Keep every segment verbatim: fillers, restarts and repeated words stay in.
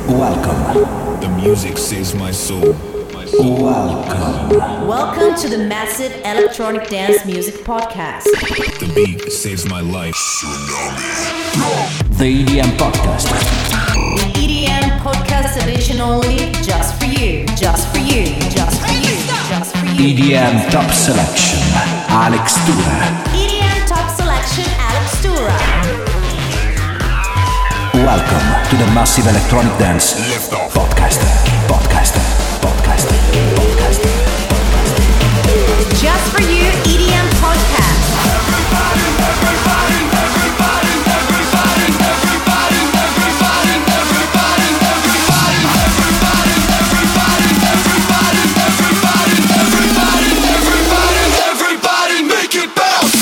Welcome. The music saves my soul. My soul. Welcome. Welcome to the Massive Electronic Dance Music Podcast. The beat saves my life. The E D M Podcast. The E D M Podcast edition only, just for you, just for you, just for you, just for you. E D M Top Selection, Alex Tura. E D M Top Selection, Alex Tura. Welcome to the Massive Electronic Dance Podcast. Podcast. Podcast. Podcast. Just for you, E D M Podcast. Everybody, everybody, everybody, everybody, everybody, everybody, everybody, everybody, everybody, everybody, everybody, everybody, everybody, everybody, everybody, make it bounce.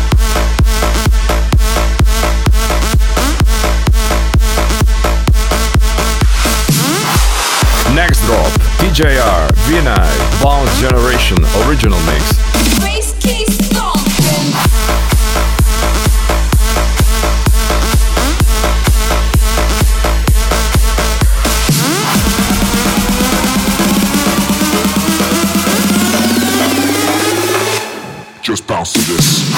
Next drop, D J R, V-Night, Bounce Generation, original mix. Bass keys stomping. Just bounce to this.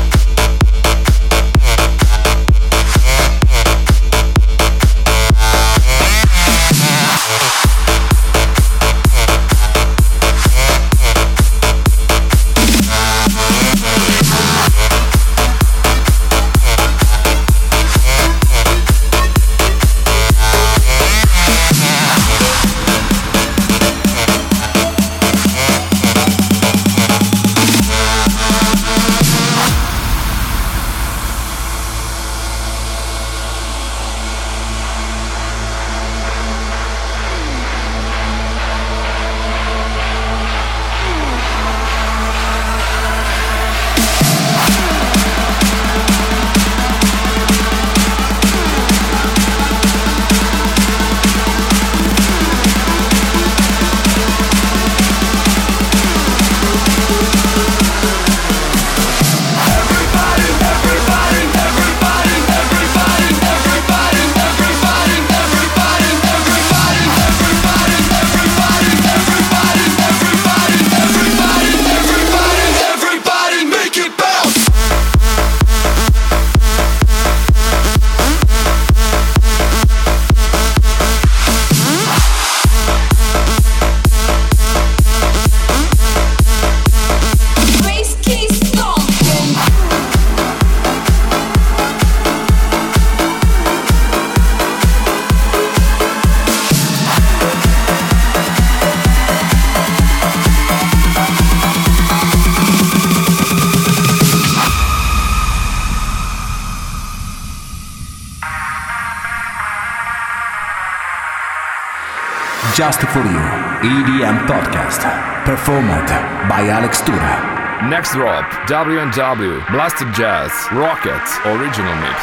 Just for you, E D M Podcast, performed by Alex Tura. Next drop, W and W, Blasted Jazz, Rocket, original mix.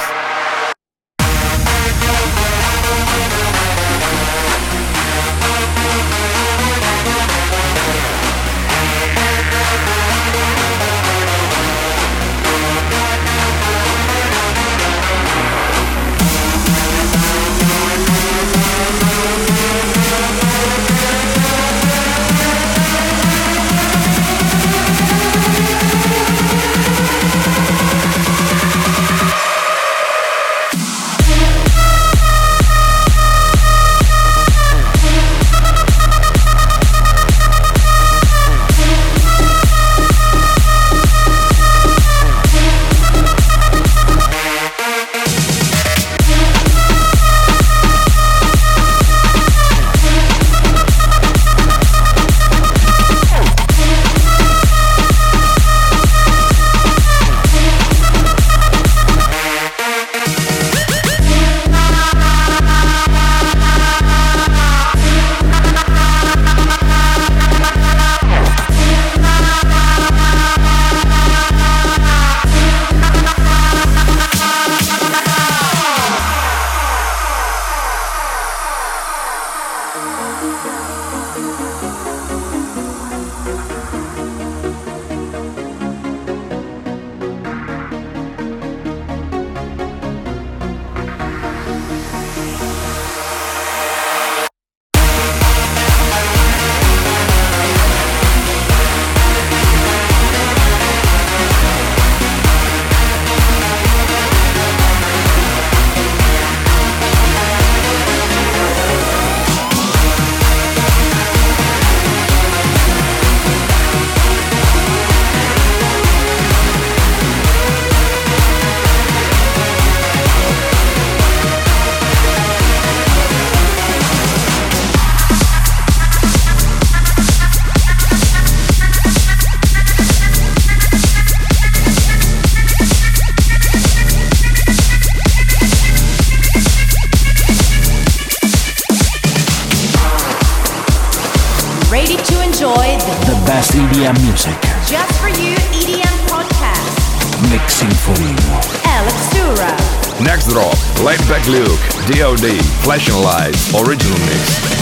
best E D M music. Just for you E D M podcast. Mixing for you. Alex Tura. Next drop, Laid Back Luke, D O D, Flashing Lights, original mix.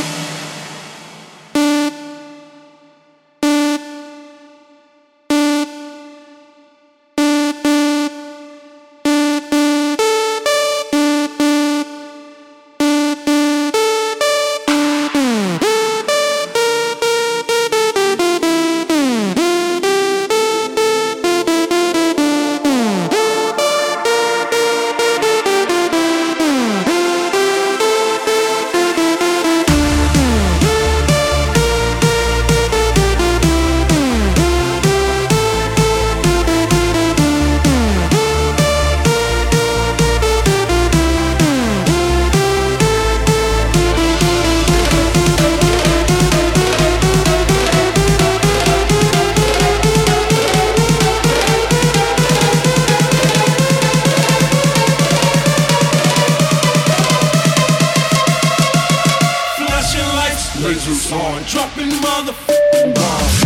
Lasers on, dropping motherfucking bombs.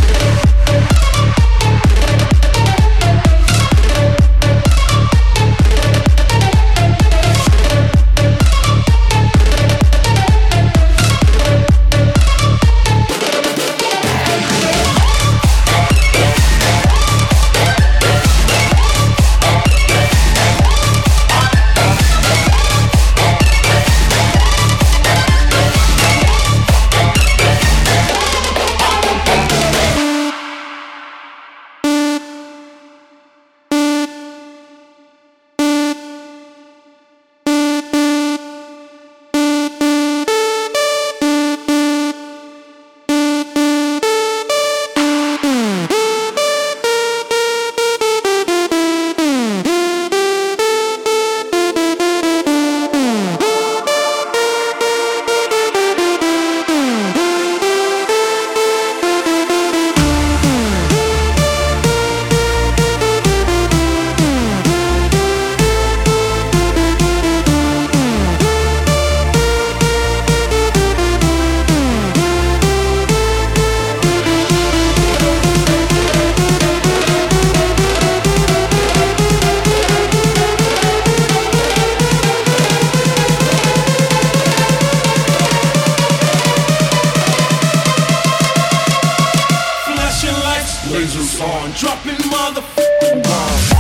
Lasers on, dropping motherfucking bombs.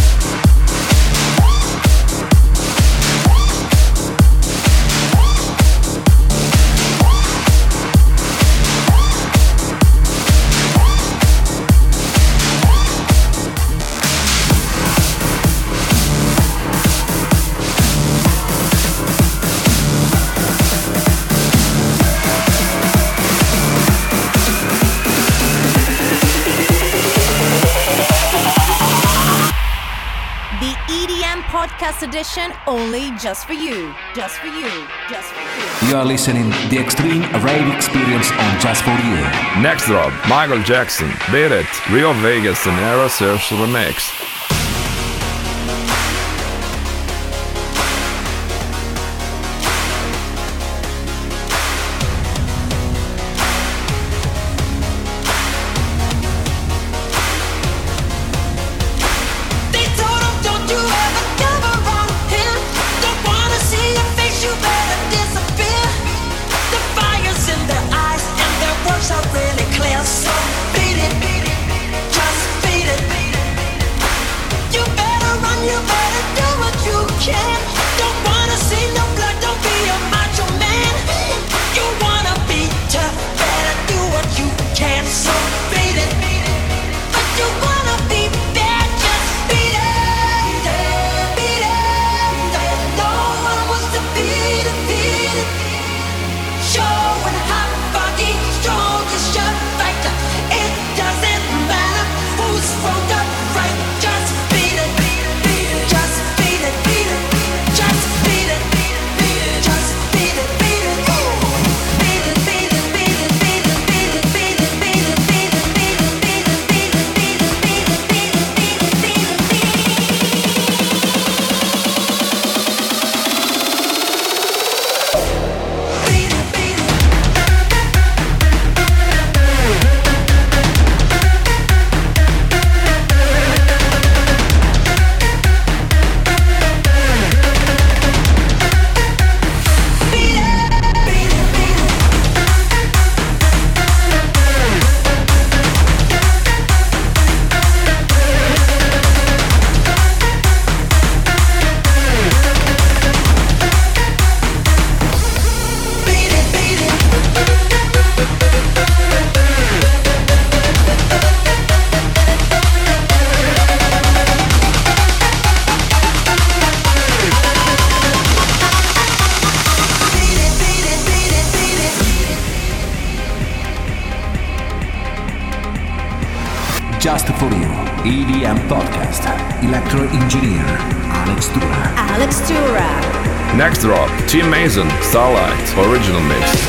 Podcast edition only just for you, just for you, just for you. You are listening the Extreme Rave Experience on Just for You. Next drop, Michael Jackson, Beat It, Rio Vegas and Era Search Remix. Really clear, so beat it, beat it, just beat it, beat it. Just for You E D M Podcast. Electro Engineer Alex Tura. Alex Tura. Next drop, Tim Mason, Starlight, original mix.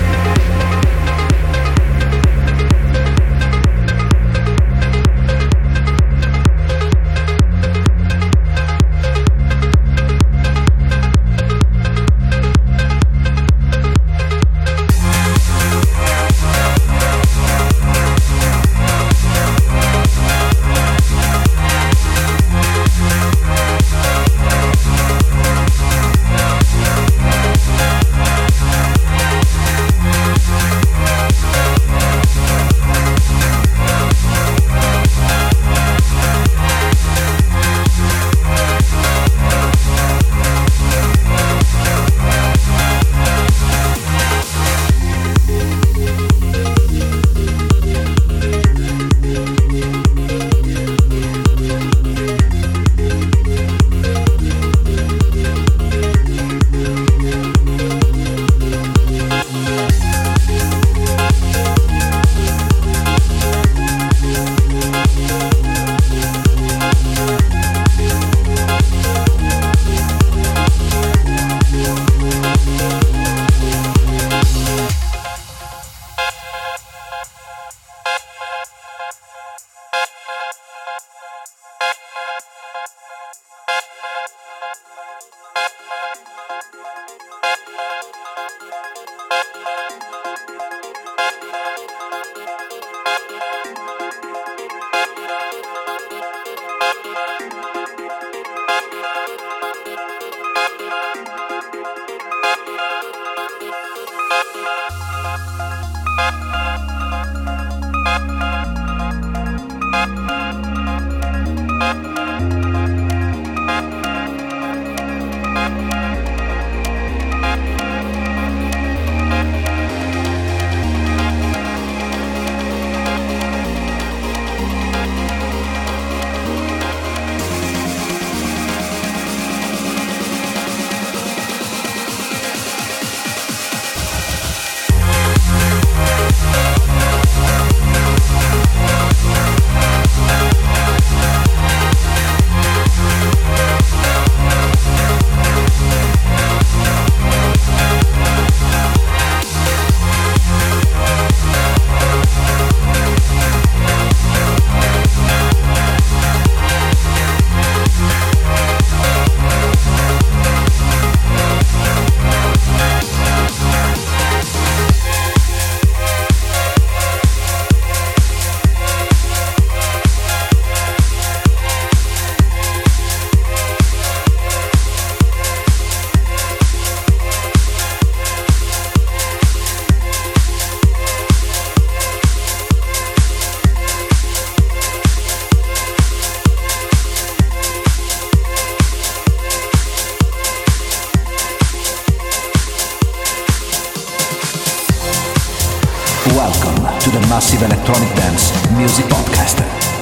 Welcome to the Massive Electronic Dance Music Podcast.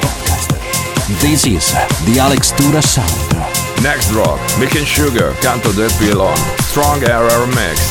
This is the Alex Tura sound. Next drop, Mick and Sugar, Canto del Pilon, Strong Era Mix.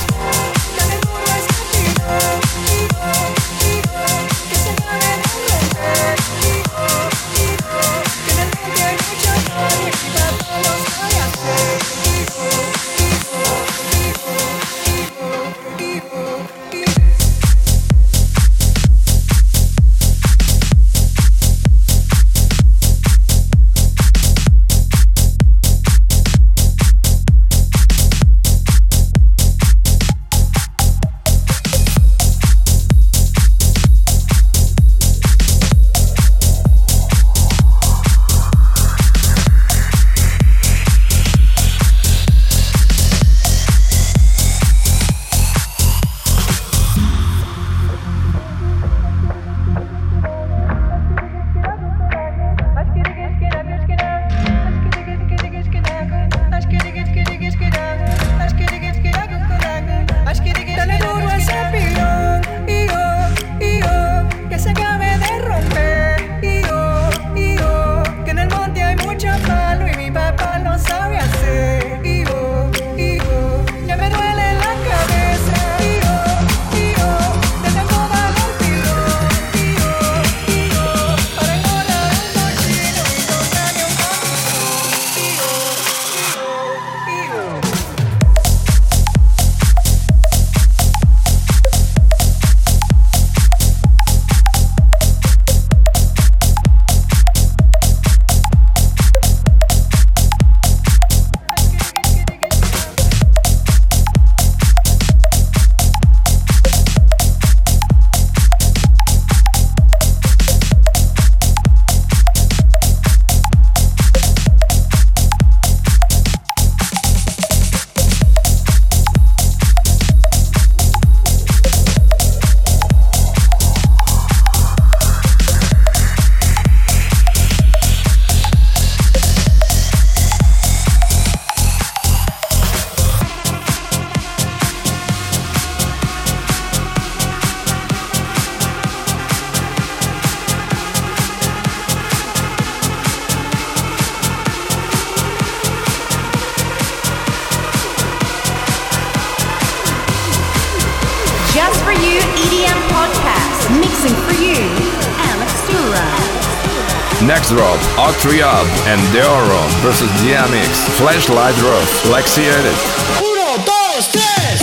For You E D M podcast. Mixing for you, Alex Tura. Next drop, Octriab and Deoro versus D M X, Flashlight Roof, Lexi Edit. Uno, dos, tres.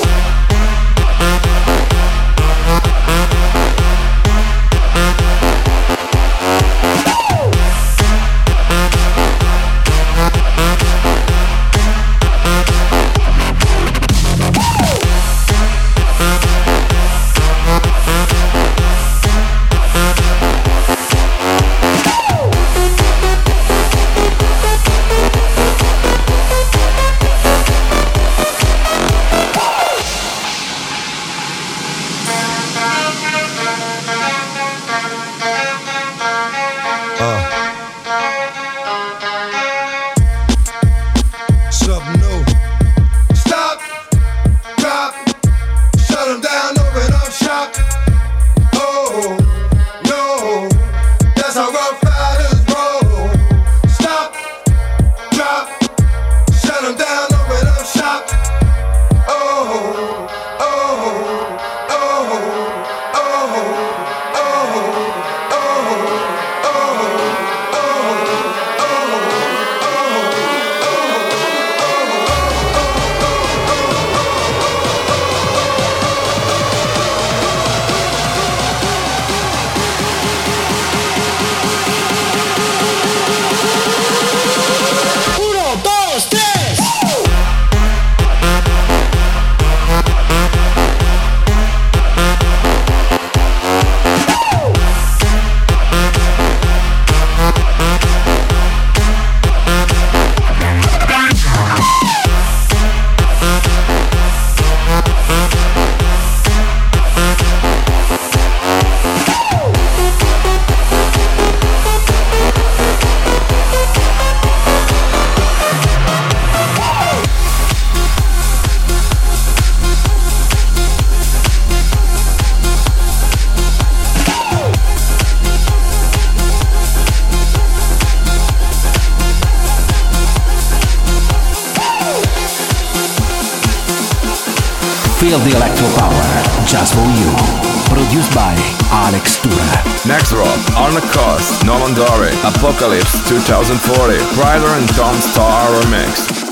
Feel the electro power, just for you. Produced by Alex Tura. Next drop, Arna Cost, Nolan Dory, Apocalypse twenty forty, Ryder and Tom Star remix.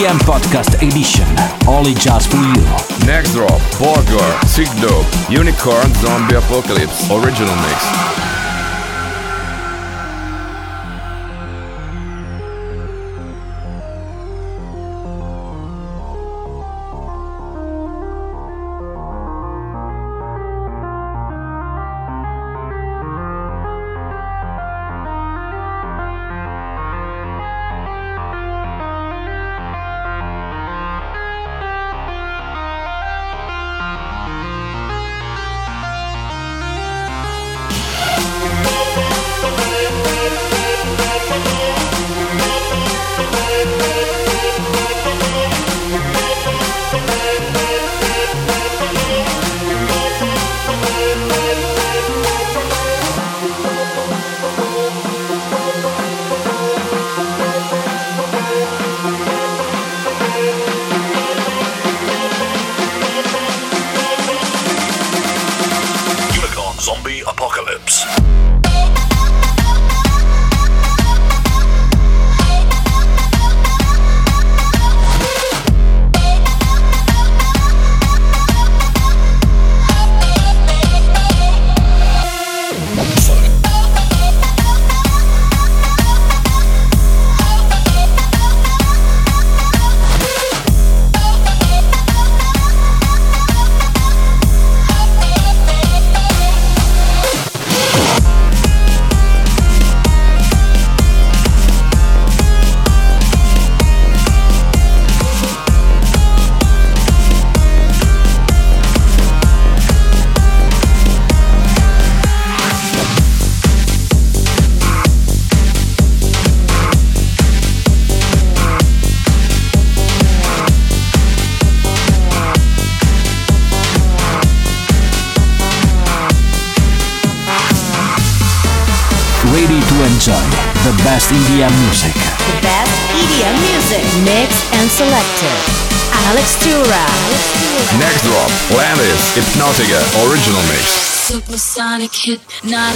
D M Podcast Edition, only just for you. Next drop, Borgor, Sick Dope, Unicorn Zombie Apocalypse, original mix. Zombie Apocalypse. Ready to enjoy the best E D M music. The best E D M music, mixed and selected. Alex Tura. Next drop, Landis, Hypnotica, original mix. Supersonic hypnotic.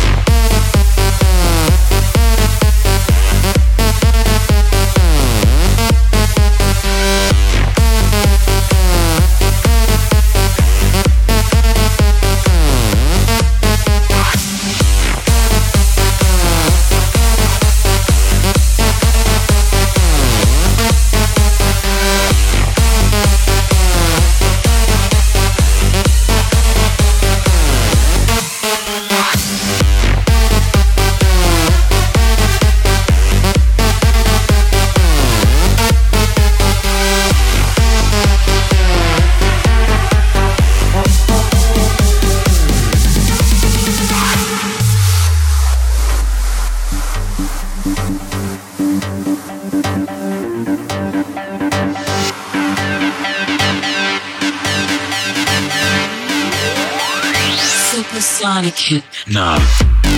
Supersonic hypnotic.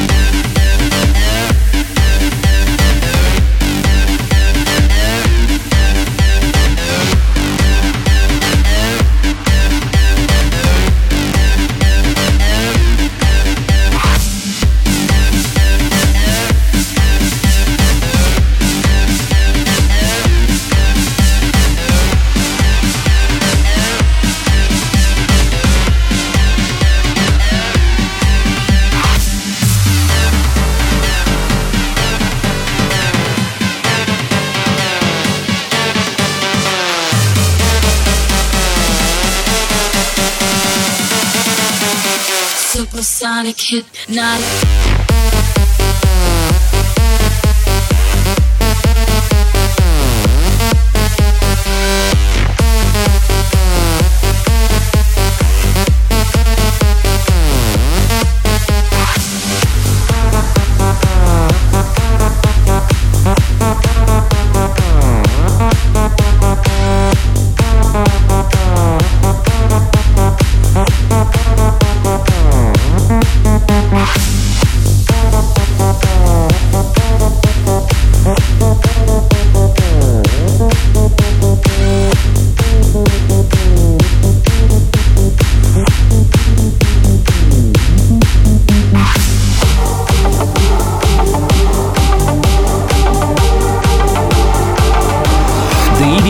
Supersonic hypnotic.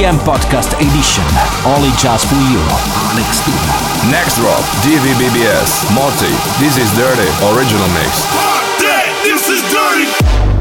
M Podcast Edition, only just for you, Alex Tuda. Next drop, D V B B S, Moti, This Is Dirty, original mix. Fuck that! This is dirty!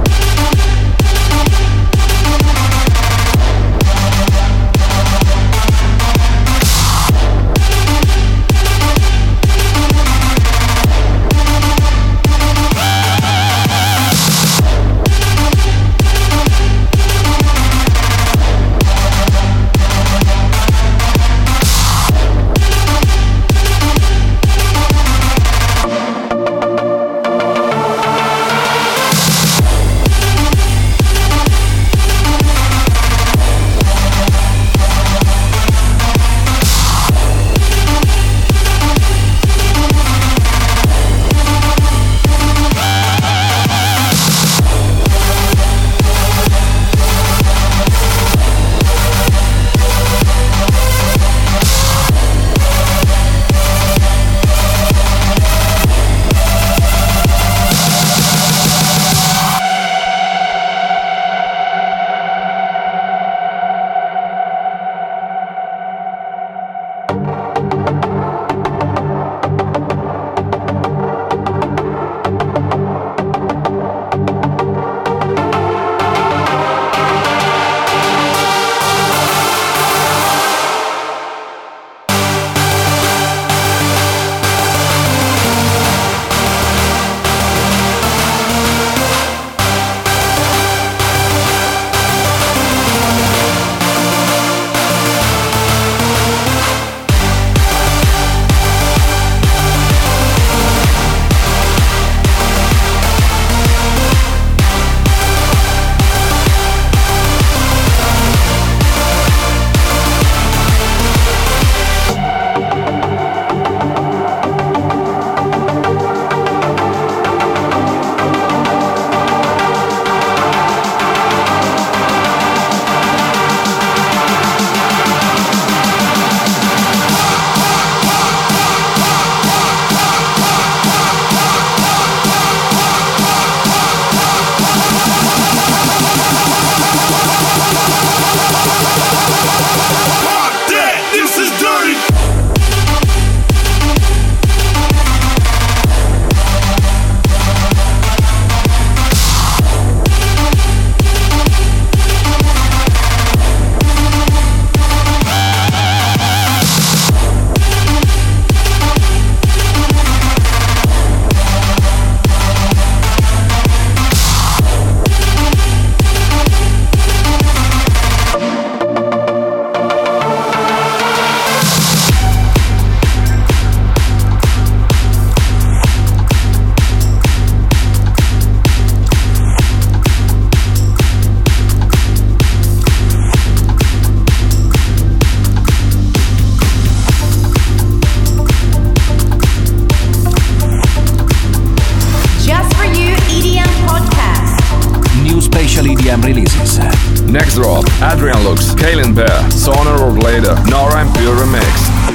Next drop, Adrian Lux, Kaylin Bear, Sooner or Later, Nora En Pure remix.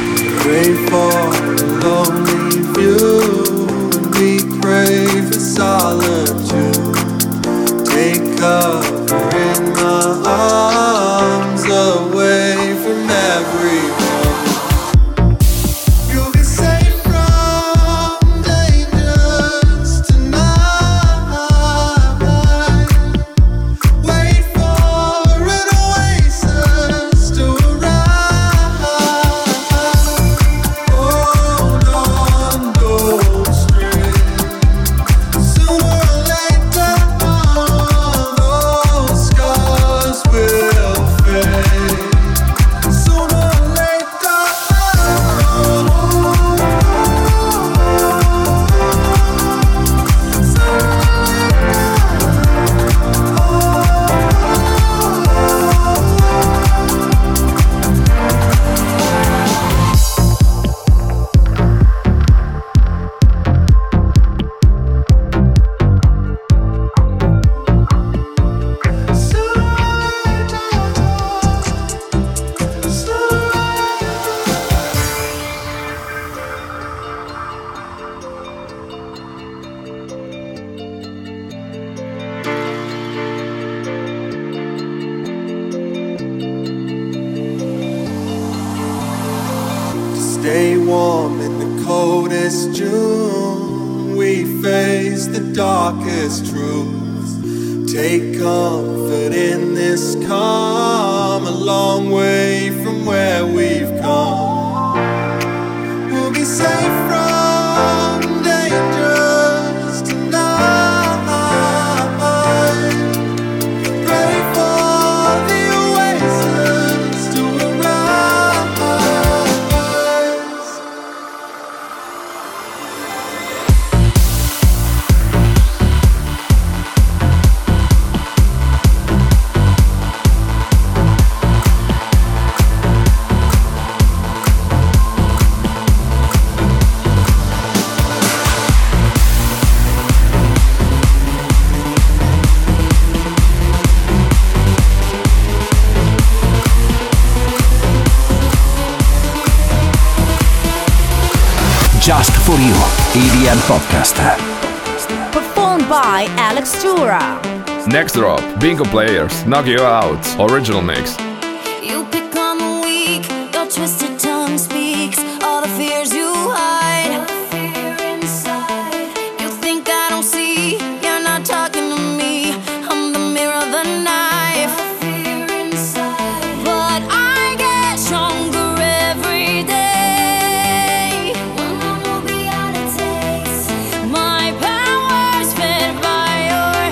Pray for a lonely view, and we pray for solitude. Take cover in my arms, away from everyone. You'll be safe from dangers tonight. Wait for an oasis to arrive. Hold on, don't stray. darkest truths. Take comfort in this calm, a long way from where we've come. We'll be safe from dangers tonight. Pray for the oasis to arise. Just for You, E D M Podcast. Performed by Alex Tura. Next drop, Bingo Players, Knock You Out, original mix. You pick on the weak, your twisted tongue speaks all the fears you hide. You think I don't see, you're not talking to me. I'm the mirror of the knife. But I get stronger every day. My power's fed by your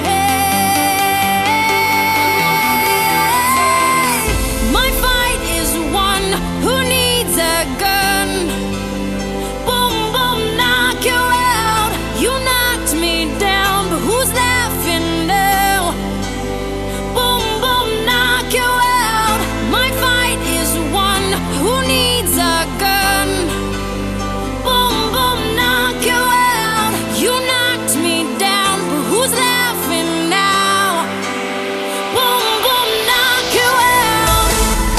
hate. My fight is one who needs a gun. Boom, boom, knock you out. You knocked me down, but who's laughing now? Boom, boom, knock you out. My fight is one who needs a gun. Boom, boom, knock you out. You knocked me down, but who's laughing now? Boom, boom, knock you out.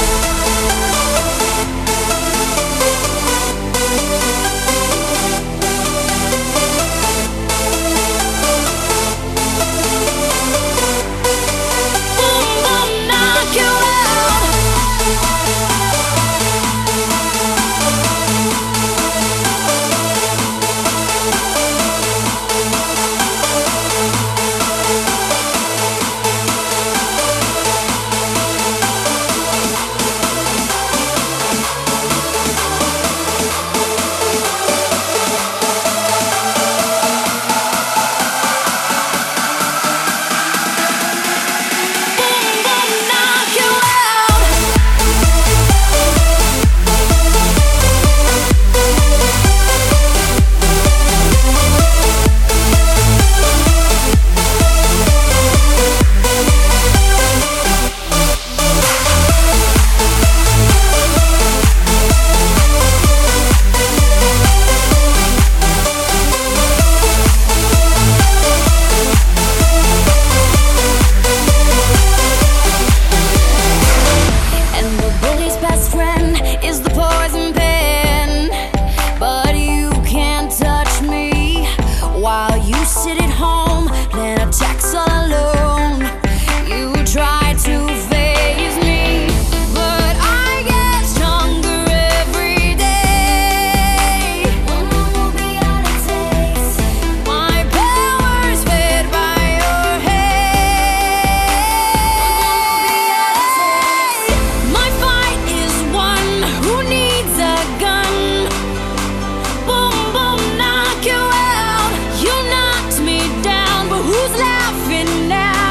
Boom, boom, knock you out. Boom, boom, knock you out. And the bully's best friend is the poison pen. But you can't touch me while you sit at home playing attacks all alone. You try to phase me, but I get stronger every day. My power's fed by your hate. My fight is one who needs a gun. Boom, boom, knock you out. You knocked me down, but who's laughing now?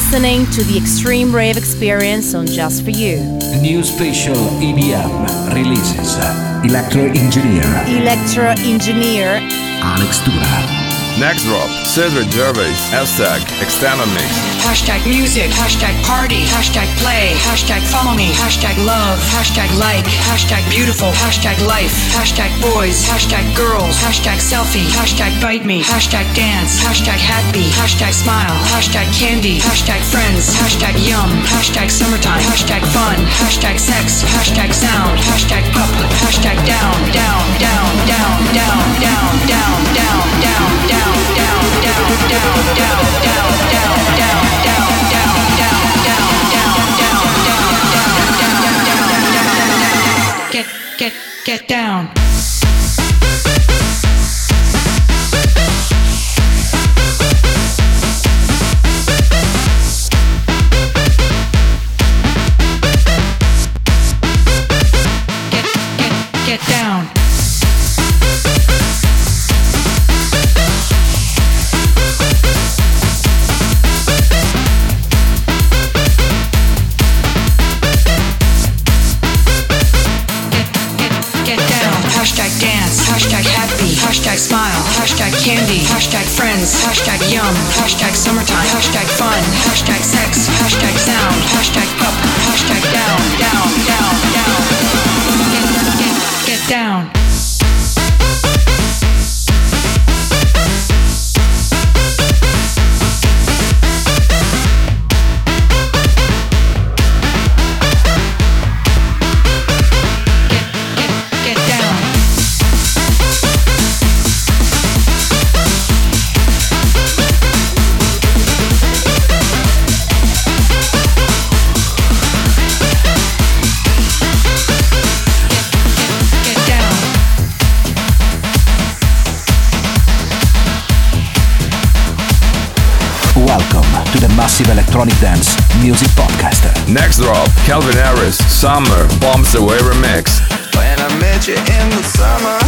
listening to the Extreme Rave Experience on Just For You. New special E D M releases. Electro Engineer. Electro Engineer. Alex Dura. Next drop, Cedric Gervais, hashtag Extended Mix. Hashtag music, hashtag party, hashtag play, hashtag follow me, hashtag love, hashtag like, hashtag beautiful, hashtag life, hashtag boys, hashtag girls, hashtag selfie, hashtag bite me, hashtag dance, hashtag happy, hashtag smile, hashtag candy, hashtag friends, hashtag yum, hashtag summertime, hashtag fun, hashtag sex, hashtag sound, hashtag up, hashtag down, down, down, down, down, down, down, down, down, down. Down, down, down, down, down, down, down, down, down, down, down, down, down, down, down, get, get, get down. Get, get, get down. Hashtag dance, hashtag happy, hashtag smile, hashtag candy, hashtag friends, hashtag yum, hashtag summertime, hashtag fun, hashtag sex, hashtag sound, hashtag up, hashtag down, down, down, down. Get, get, get down. To the Massive Electronic Dance Music Podcast. Next drop, Calvin Harris, Summer, Bombs Away Remix. When I met you in the summer,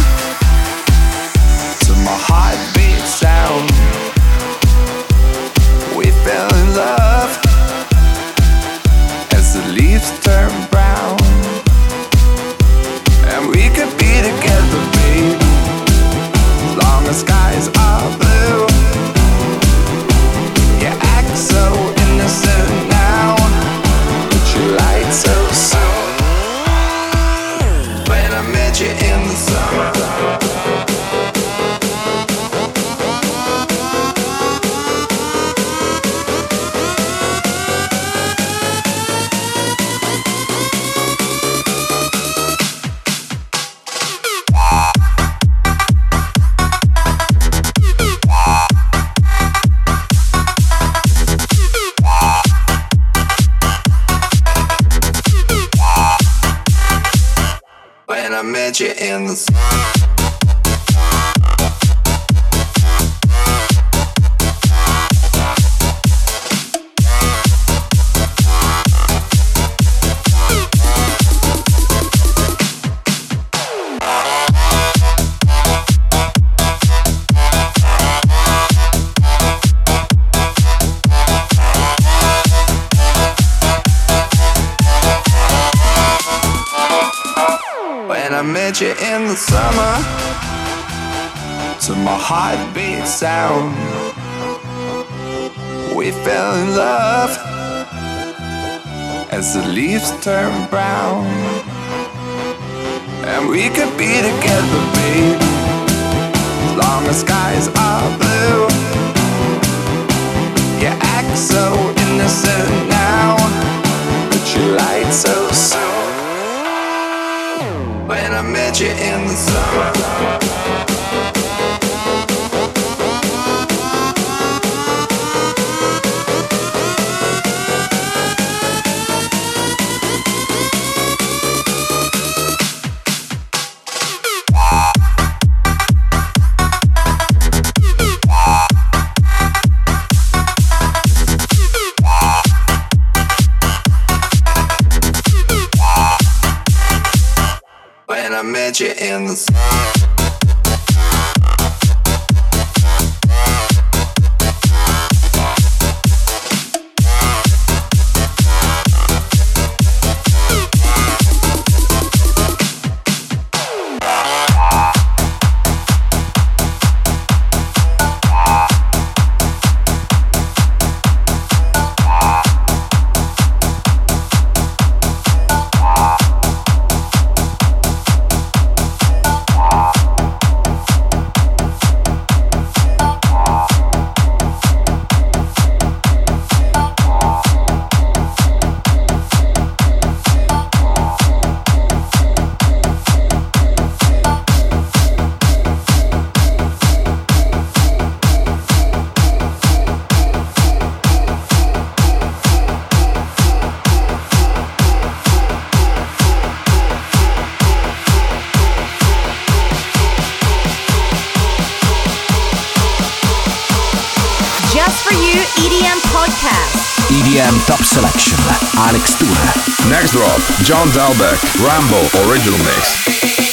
to my heartbeat sound, we fell in love as the leaves turn brown, and we could be together, babe, as long as skies are blue. You act so innocent now, but you lied so soon. When I met you in the summer, I met you in the sun. I met you in the summer, to my heartbeat sound. We fell in love as the leaves turn brown, and we could be together, babe, as long as skies are blue. You act so innocent now, but you lied so soon. When I met you in the summer, when I met you in the sun. E D M podcast. E D M Top Selection, Alex Tura. Next drop, John Dalbeck, Rambo Original Mix.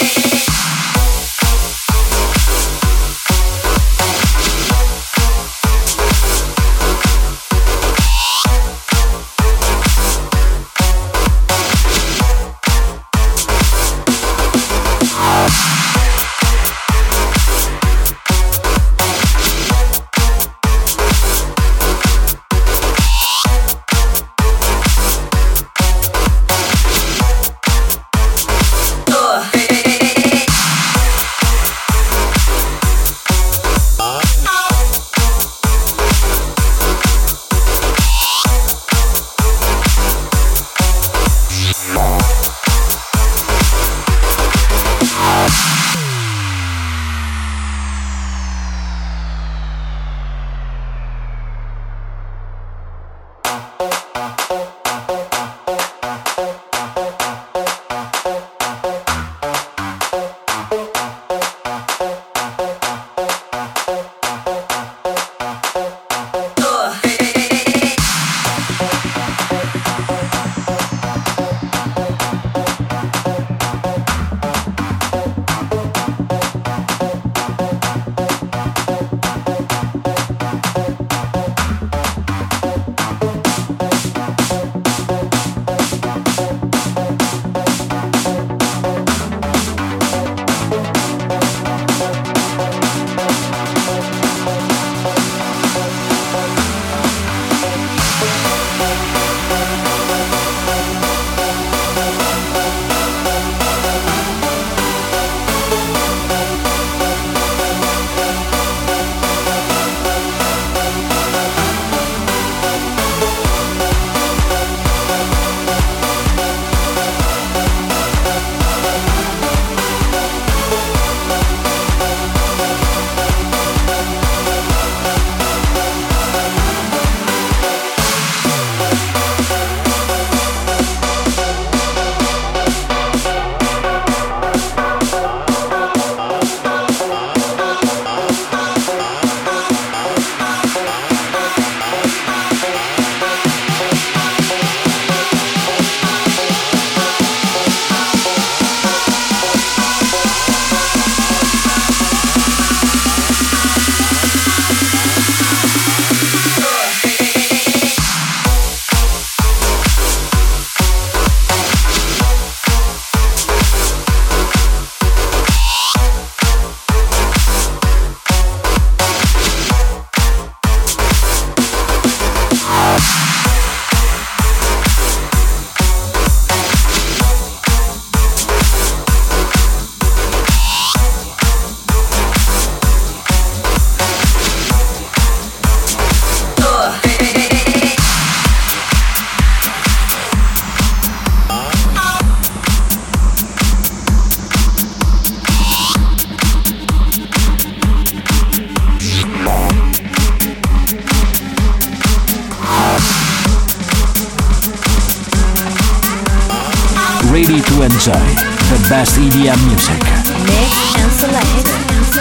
Ready to enjoy the best E D M music. Mix and select.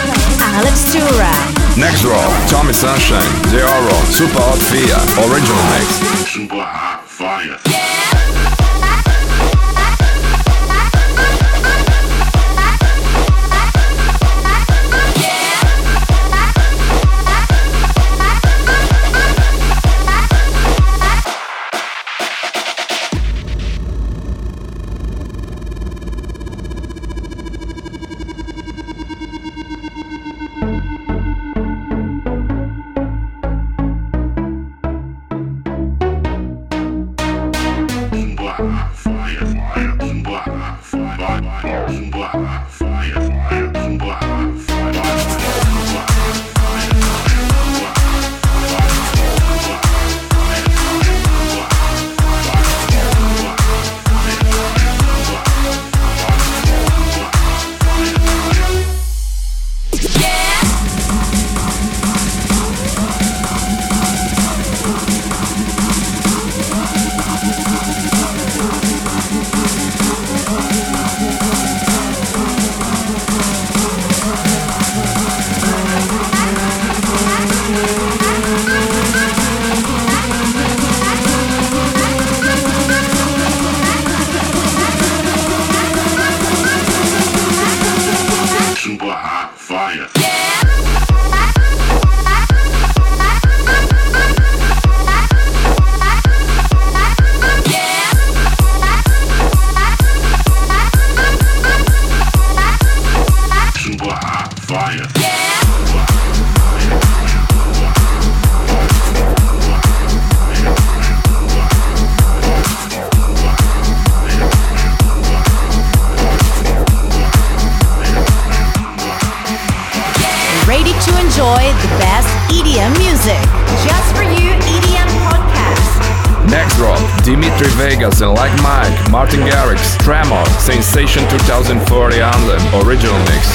Alex Tura. Next drop, Tommy Sunshine, Deoro, Super Hot Fia, Original Mix. Super hot fire. ready to enjoy the best E D M music. Just for you E D M podcast. Next drop, Dimitri Vegas and Like Mike, Martin Garrix, Tremor, Sensation twenty forty Anthem, original mix.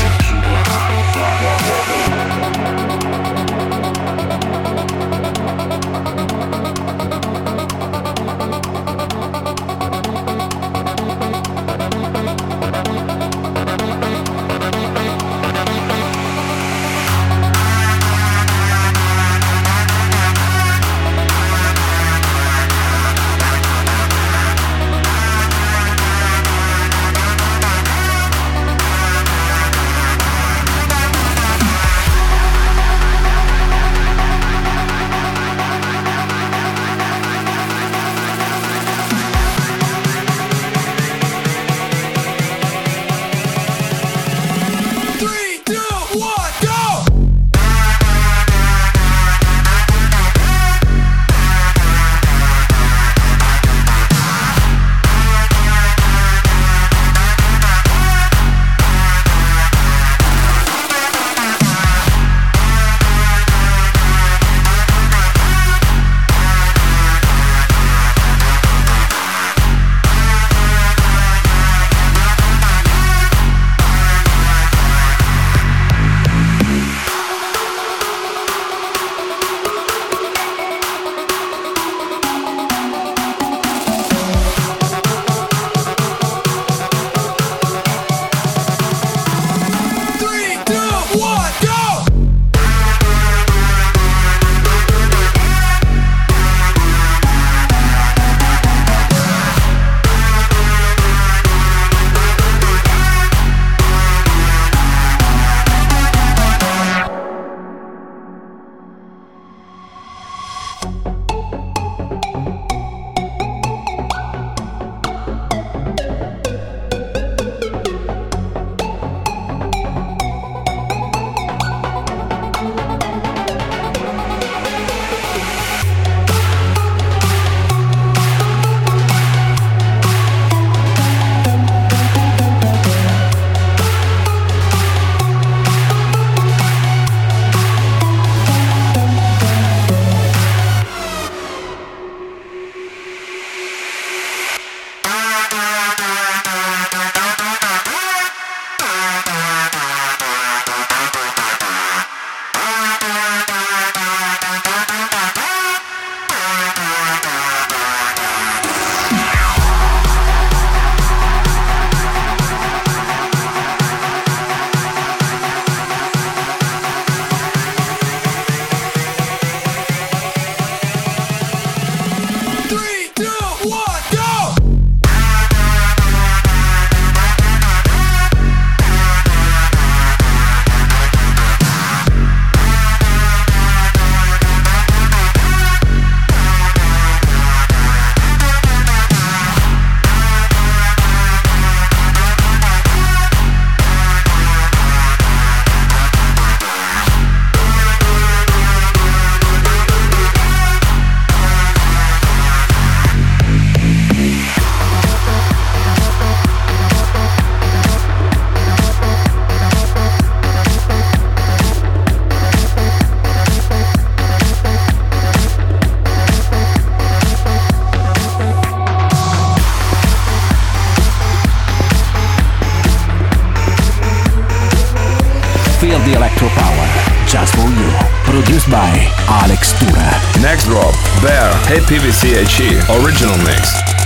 The Electro Power, just for you. Produced by Alex Tura. Next drop, Bear, Hey P V C H E, original mix.